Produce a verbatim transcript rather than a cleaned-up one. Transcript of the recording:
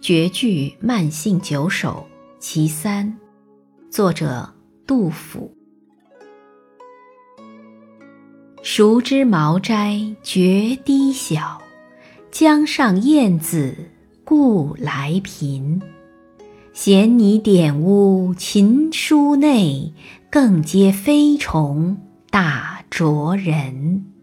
绝句慢性九首其三，作者杜甫。熟知茅斋绝低小，江上燕子故来频。衔泥点污琴书内，更接飞虫大啄人。